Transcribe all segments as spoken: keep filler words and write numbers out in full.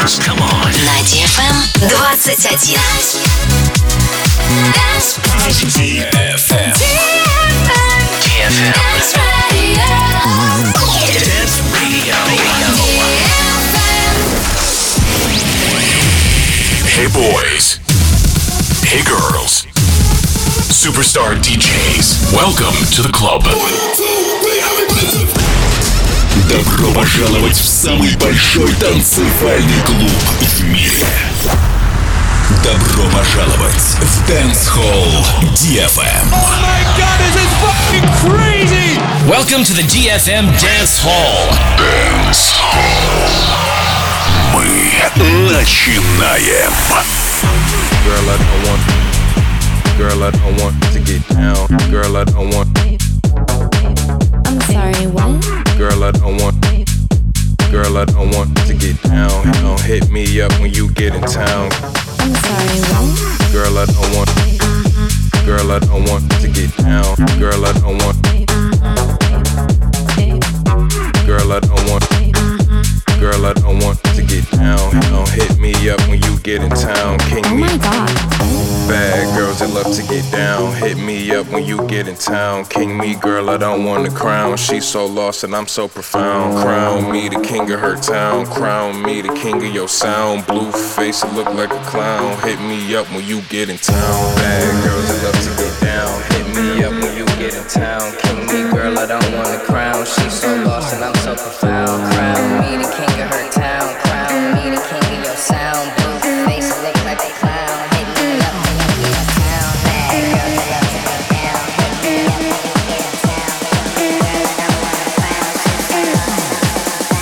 dance. Come on. На ди эф эм двадцать один. ди эф эм. ди эф эм. Dance Radio. Hey boys. Hey girls. Superstar ди джейс. Welcome to the club. Добро пожаловать в самый большой танцевальный клуб в мире. Добро пожаловать в Dance Hall ди эф эм. Oh my God, this is fucking crazy! Welcome to the ди эф эм Dance Hall. Dance Hall. Мы начинаем. Girl, I don't want. Girl, I don't want to get down. Girl, I don't want. I'm sorry, what? Girl, I don't want. Girl, I don't want to get down. Don't hit me up when you get in town. I'm sorry, what? Girl, I don't want. Girl, I don't want to get down. Girl, I don't want. Girl, I don't want. Girl, I don't want to get down. Don't hit me up when you get in town. King Oh me. my God. Bad girls that love to get down. Hit me up when you get in town. King me, girl, I don't want a crown. She's so lost and I'm so profound. Crown me the king of her town. Crown me the king of your sound. Blue face, it look like a clown. Hit me up when you get in town. Bad girls that love to get down. Hit me up when you get in town. King me, girl, I don't want a crown. She's so lost and I'm so profound. Crown me the king of her town. Crown me the king of your sound. Blue face, it look like a clown. Hit me up when you get in town. Bad girls that love to get down. Hit me up when you get in town. Girl, I don't want a crown. She's so lost and I'm so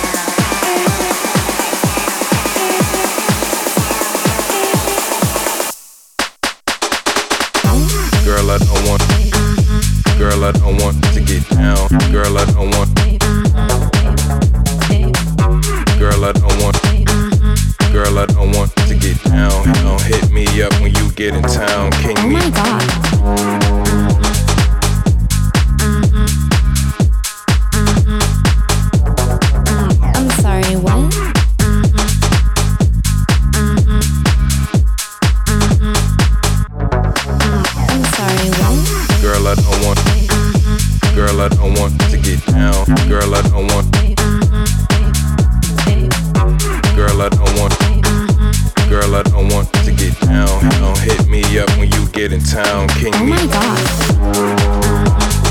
profound. Girl, I don't want. Girl, I don't want to get down. Girl, I don't want. Girl, I don't want. Girl, I don't want to get down. Don't hit me up when you get in town. King Oh me. my God. I'm sorry, what? I'm sorry, what? Girl, I don't want. Girl, I don't want to get down. Girl, I don't want. Girl, I don't want. Girl, I don't want to get down. Don't hit me up when you get in town. King Oh me. my God.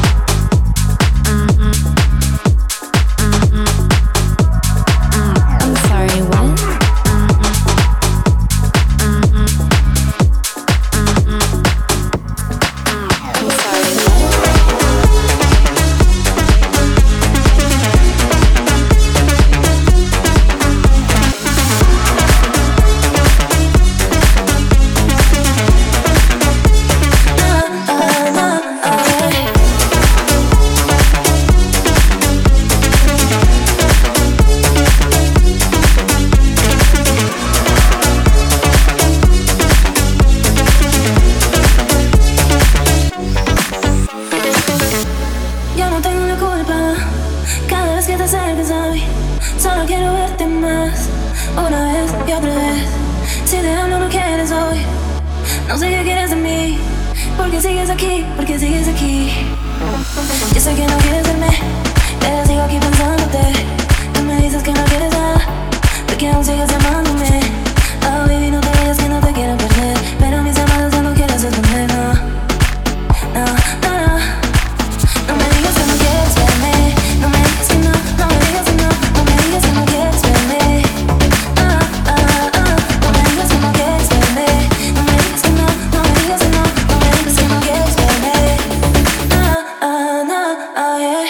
I'm sorry, what? I'm sorry, what? Yo no tengo la culpa. Cada vez que te acercas a mí, solo quiero verte más. Una vez y otra vez. Si te hablo no quieres hoy. No sé qué quieres de mí. Porque sigues aquí, porque sigues aquí. Yo sé que no quieres verme, pero sigo aquí pensándote. Tú me dices que no quieres nada, porque aún sigues amándome. Oh baby, no te vayas que no te quiero perder. Pero mis llamadas ya no quiero responder, no. No, no, no. No me digas que no quieres verme. No me digas que no, no me digas que no. No me digas que no quieres verme. Ah, ah, ah. No me digas que no quieres verme. No me digas que no, no me digas que no. No me digas que no quieres verme. Ah, ah, no, oh yeah.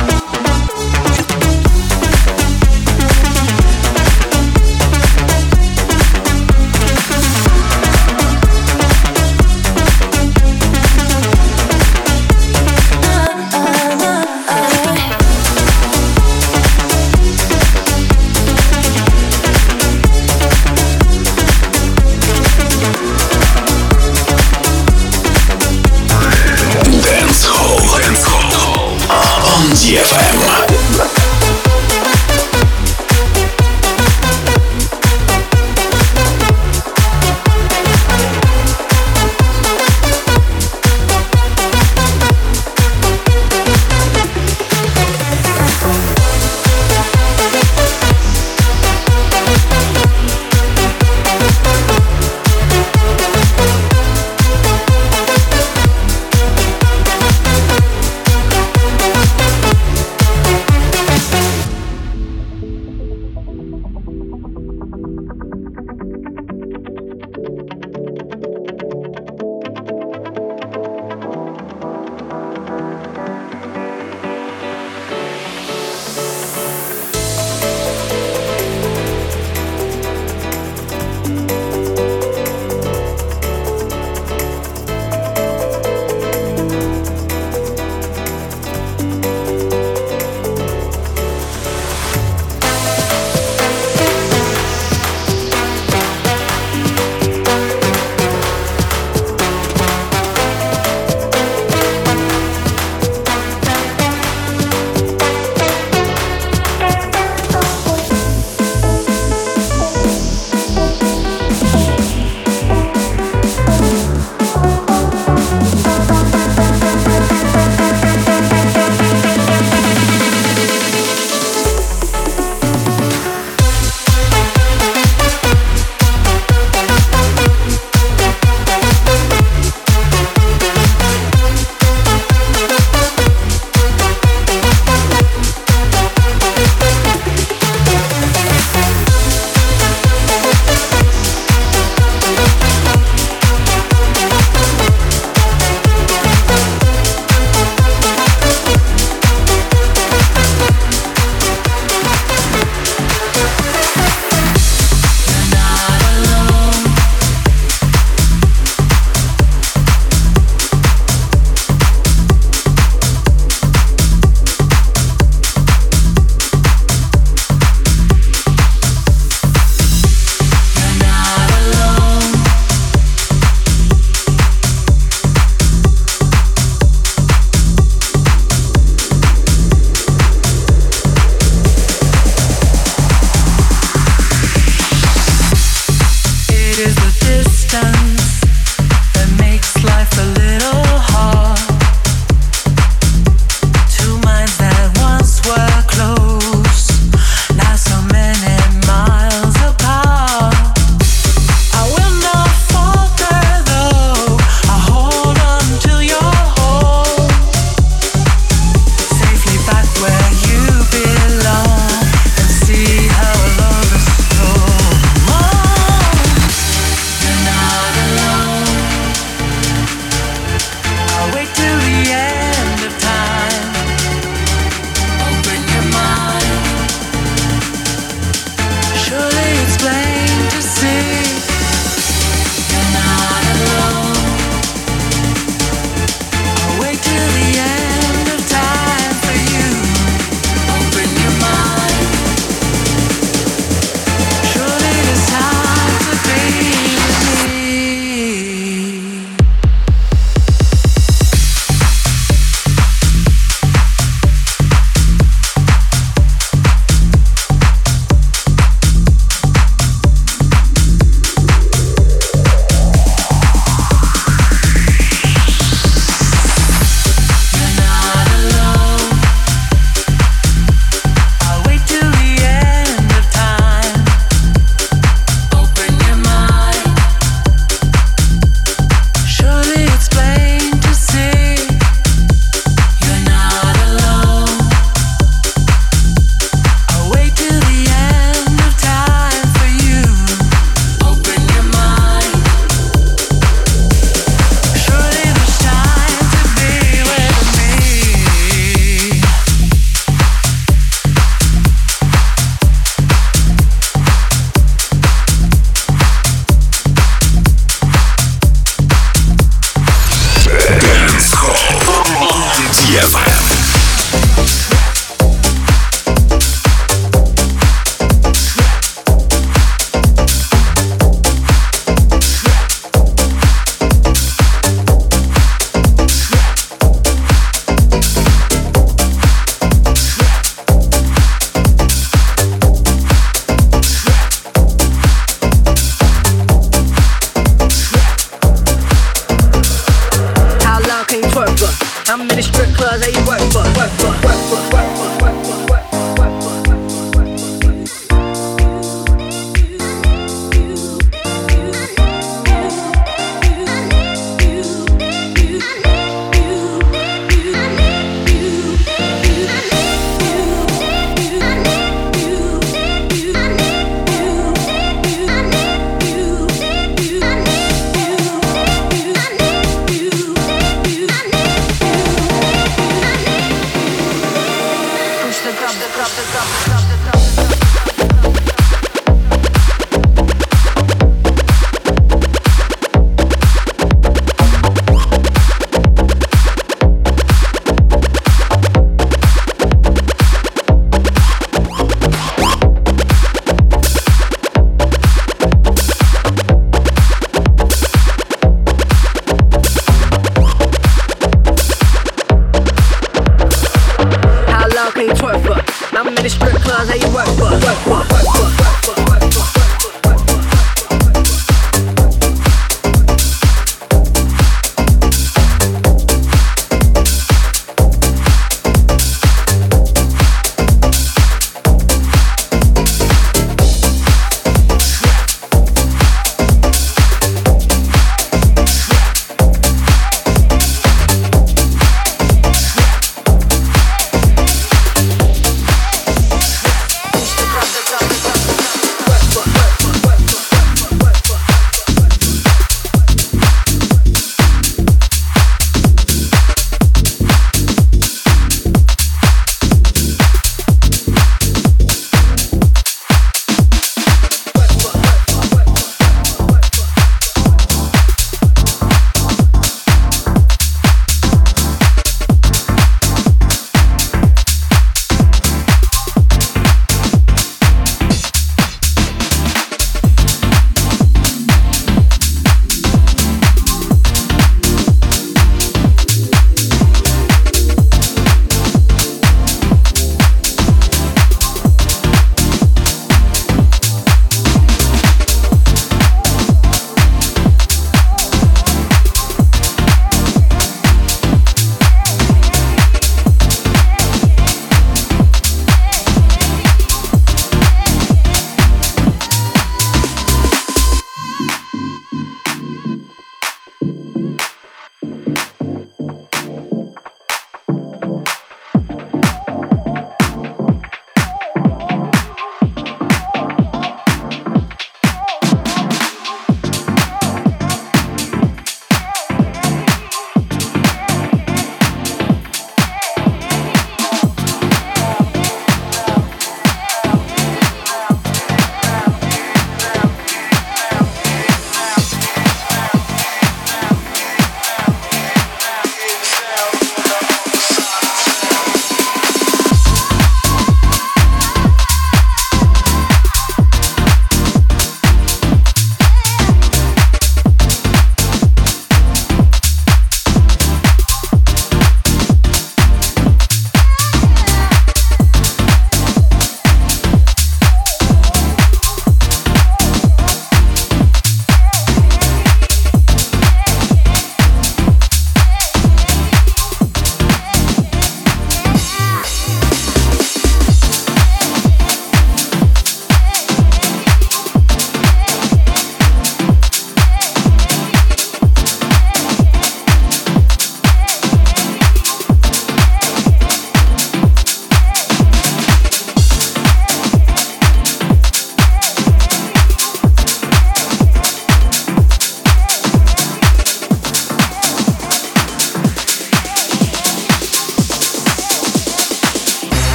Dance Hall. Dance Hall. On ди эф эм.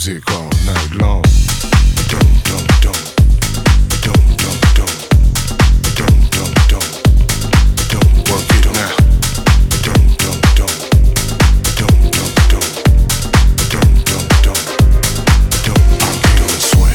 music all night long. Don't, don't, don't. Don't, don't, don't. Don't, don't, don't. Don't work it now. Don't, don't, don't. Don't, don't, don't. Don't, don't, don't. Don't rock it on sweat.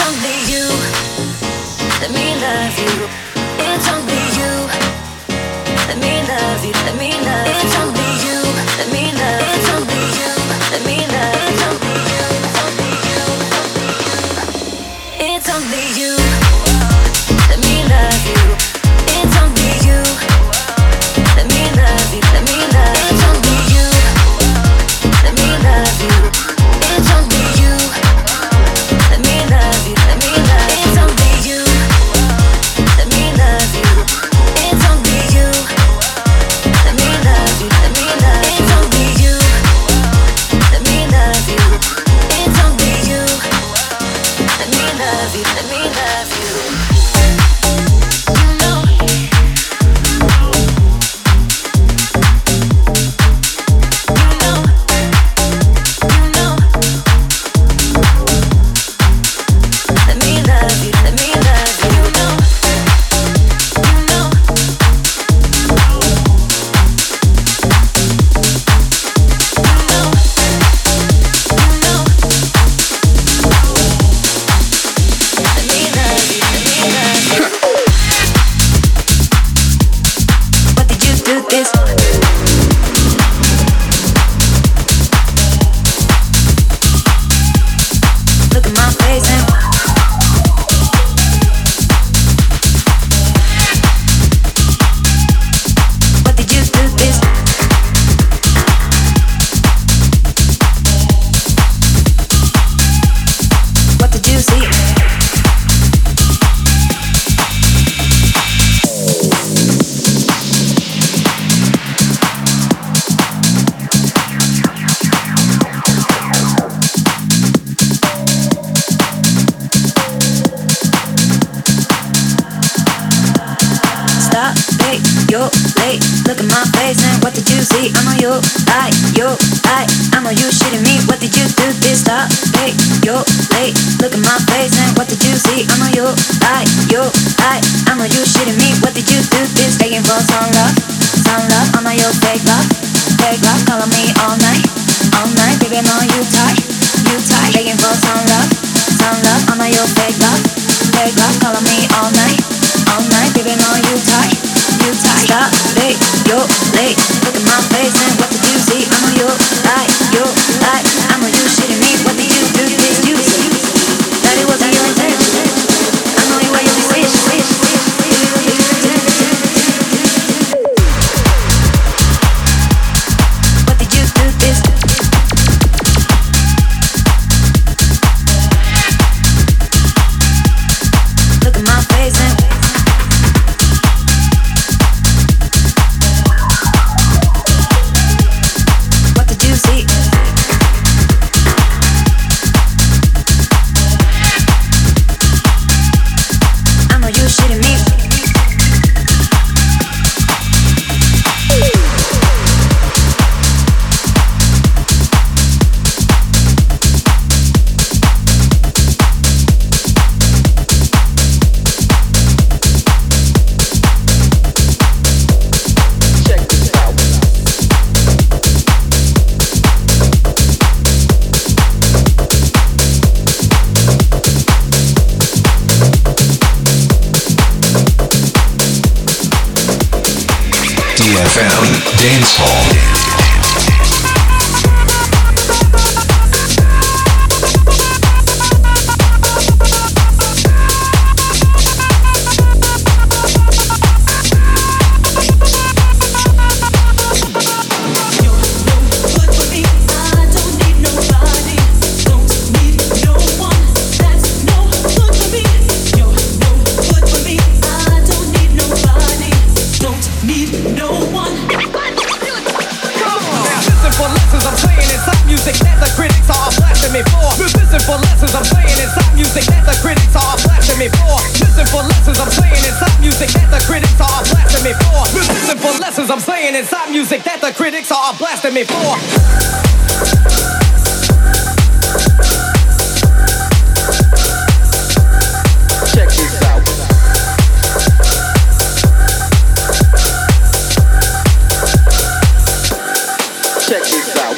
only you. Let me love you. It's only you. Let me love you. Let me love you. It's only you. Let me love you. It's only you. Let me love you. It's only you. It's only you. Let me love you. It's only you. Let me love you. Let me love you. It's only you. Let me love you. It's only you. Let me love you. Let me love you. It's only you. Let me love you. It's only you. Let me love you. Let me love you. It's only you. Let me love you. It's only you. Let me love you. Let me love you. You know. You know. You know. Let me love you. Let me love you. You know. You know. You know. You know. Let me love you. Let me love you. What did you do this? Look at my face and what did you do this? What did you see? Stop, wait, you're late. Look at my face and what did you see? I'm on you, I, you, I, I'm on you shitting me. What did you do this? Stop, wait, you're late. Look at my face and what did you see? I'm on you, I, you, I, I'm on you shitting me. What did you do this? Begging for some love, some love. I'm on your fake love, fake love. Calling me all night, all night. Baby, I'm on you tight, you tight. Begging for some love, some love. I'm on your fake love, fake love. Calling me all night, all night. Baby, I'm on you tight, you tight. Stop, wait, you're late. Look at my face and what did you see? I'm on you, I, you, I, I'm on you shitting me. What did you do this? You see that it wasn't your intention. I know you were your wish, wish, wish. What did you do this? Look at my face and what did you see? I know you shitting me. D F M Dance Hall. I'm saying inside music that the critics are blasting me for. Check this out. Check this out.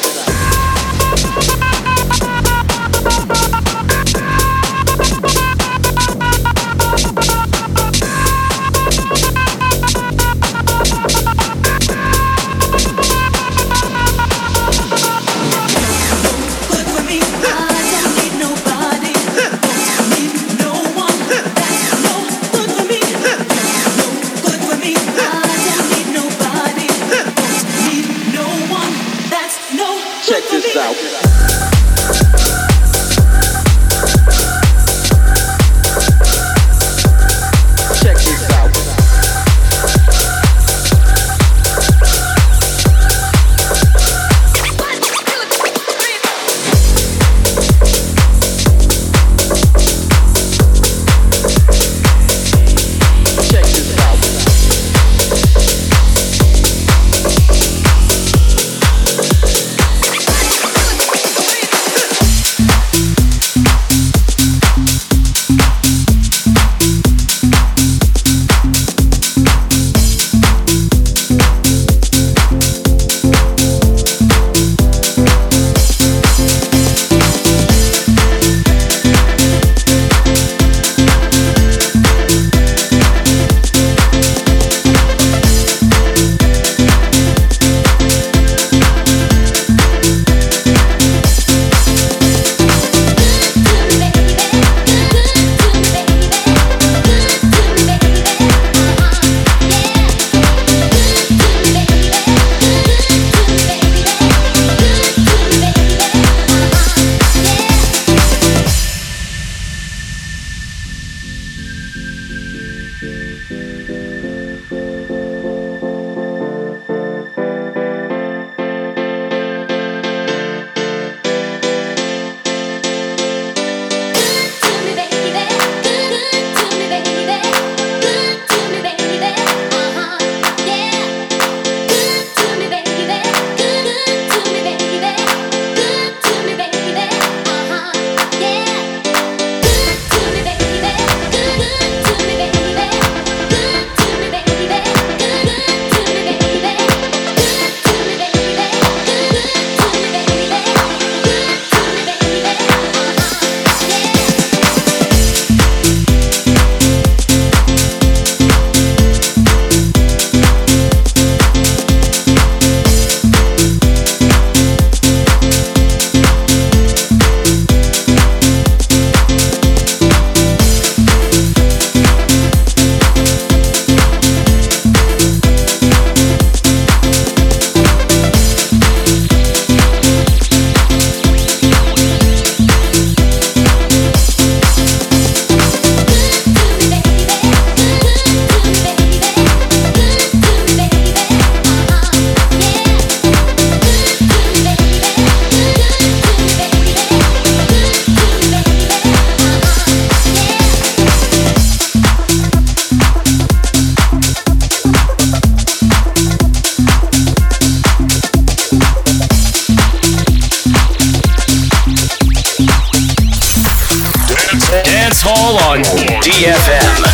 Dance Hall on D F M.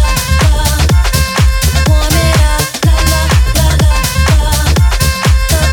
Warm it up, la la la la la.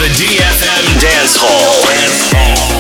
the D F M Dance Hall. Dance Hall.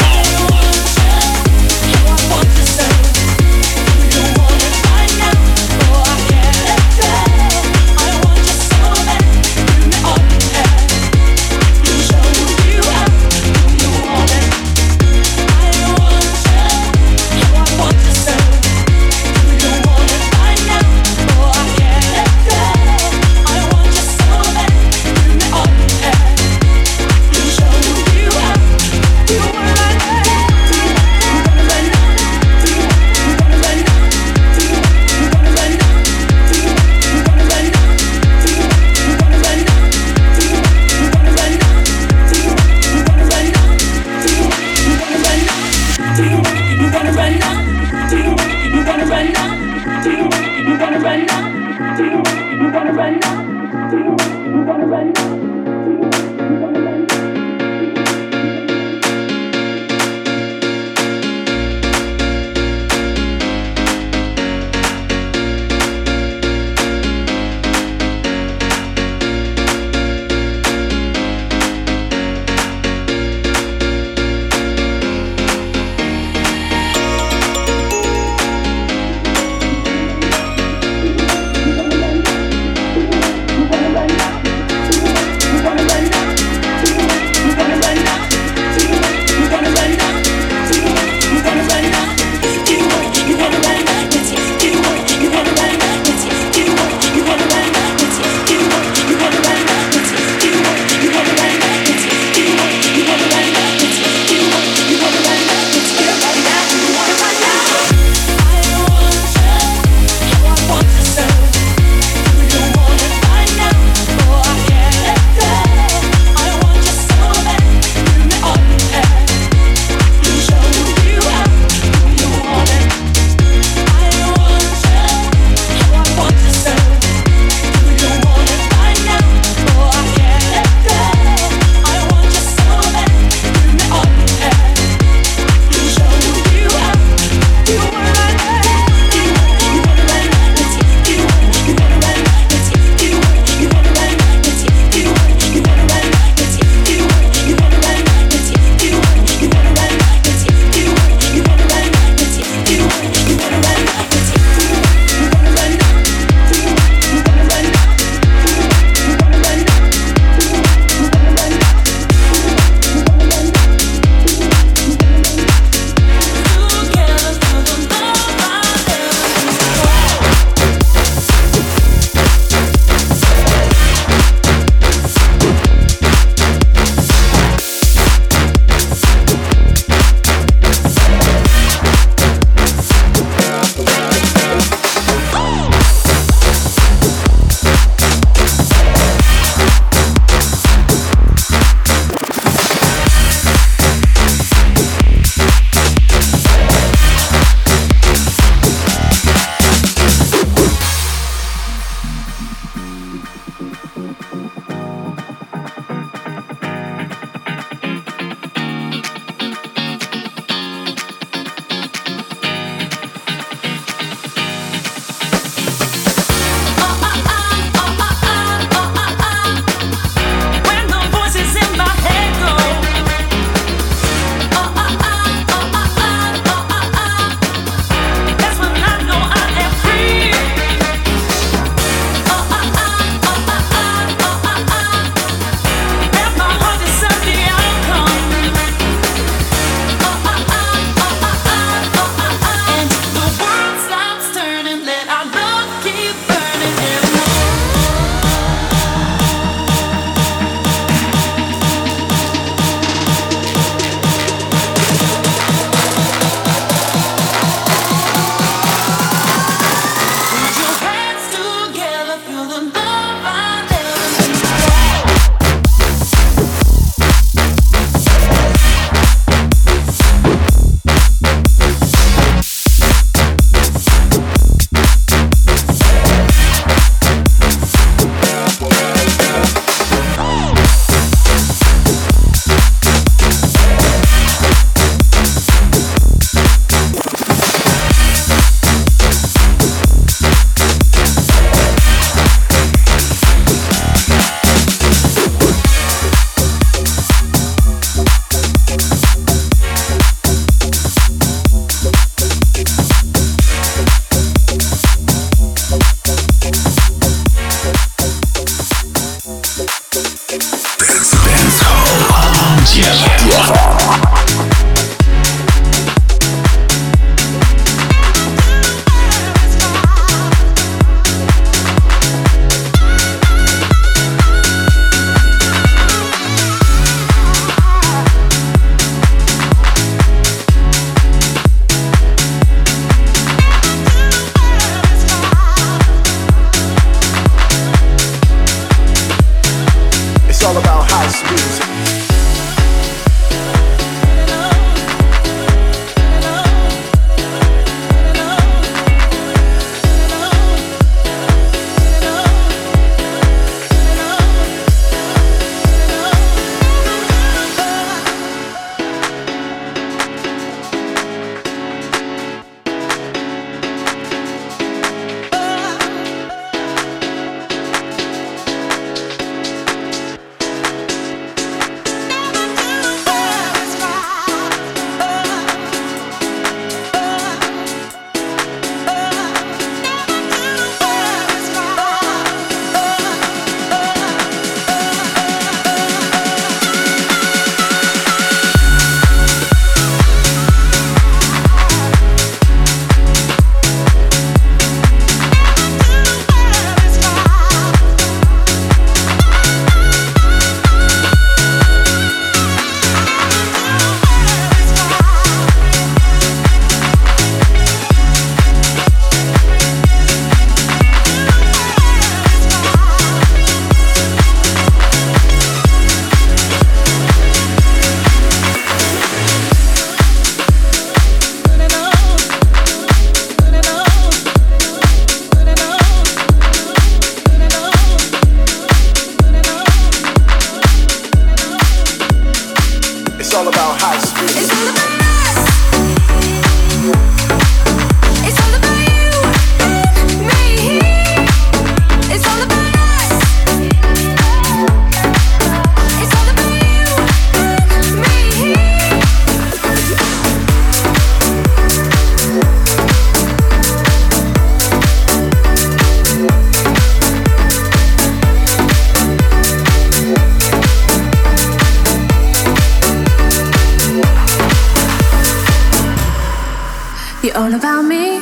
All about me.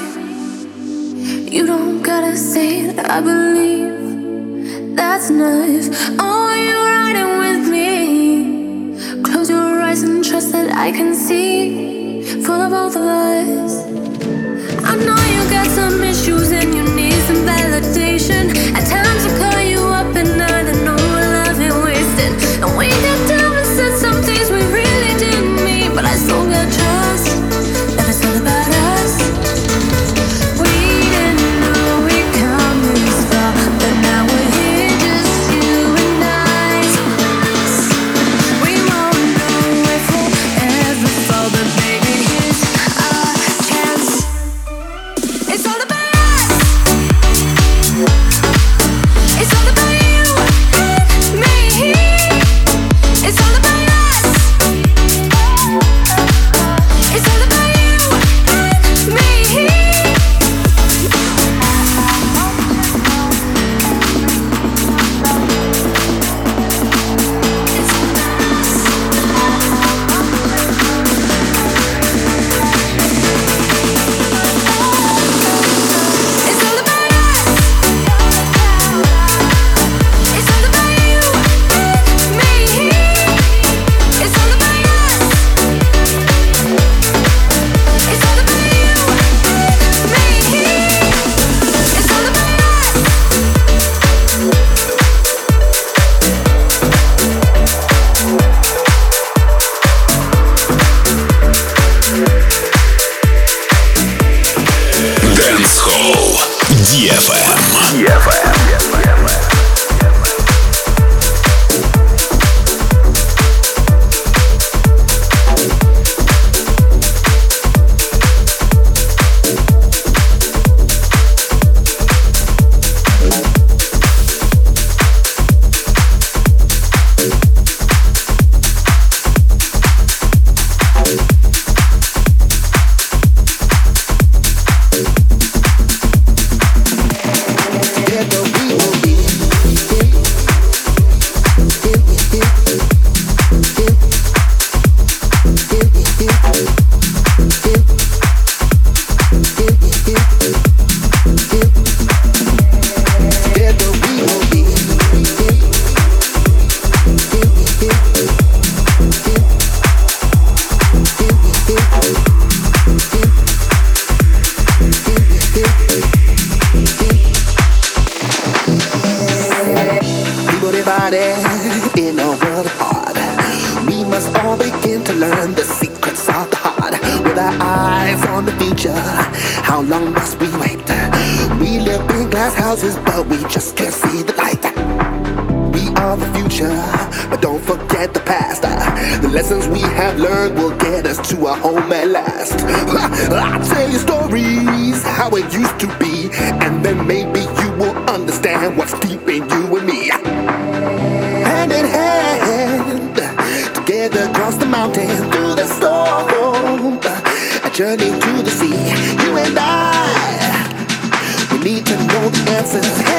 You don't gotta say that I believe. That's nice. Oh, you're riding with me. Close your eyes and trust that I can see for the both of us. I know you got some issues and you need some validation. At times I call you up and I don't know what love ain't wasted. And we got down and said some things we really didn't mean, but I still got trust that it's all about us. Journey to the sea, you and I, we need to know the answers.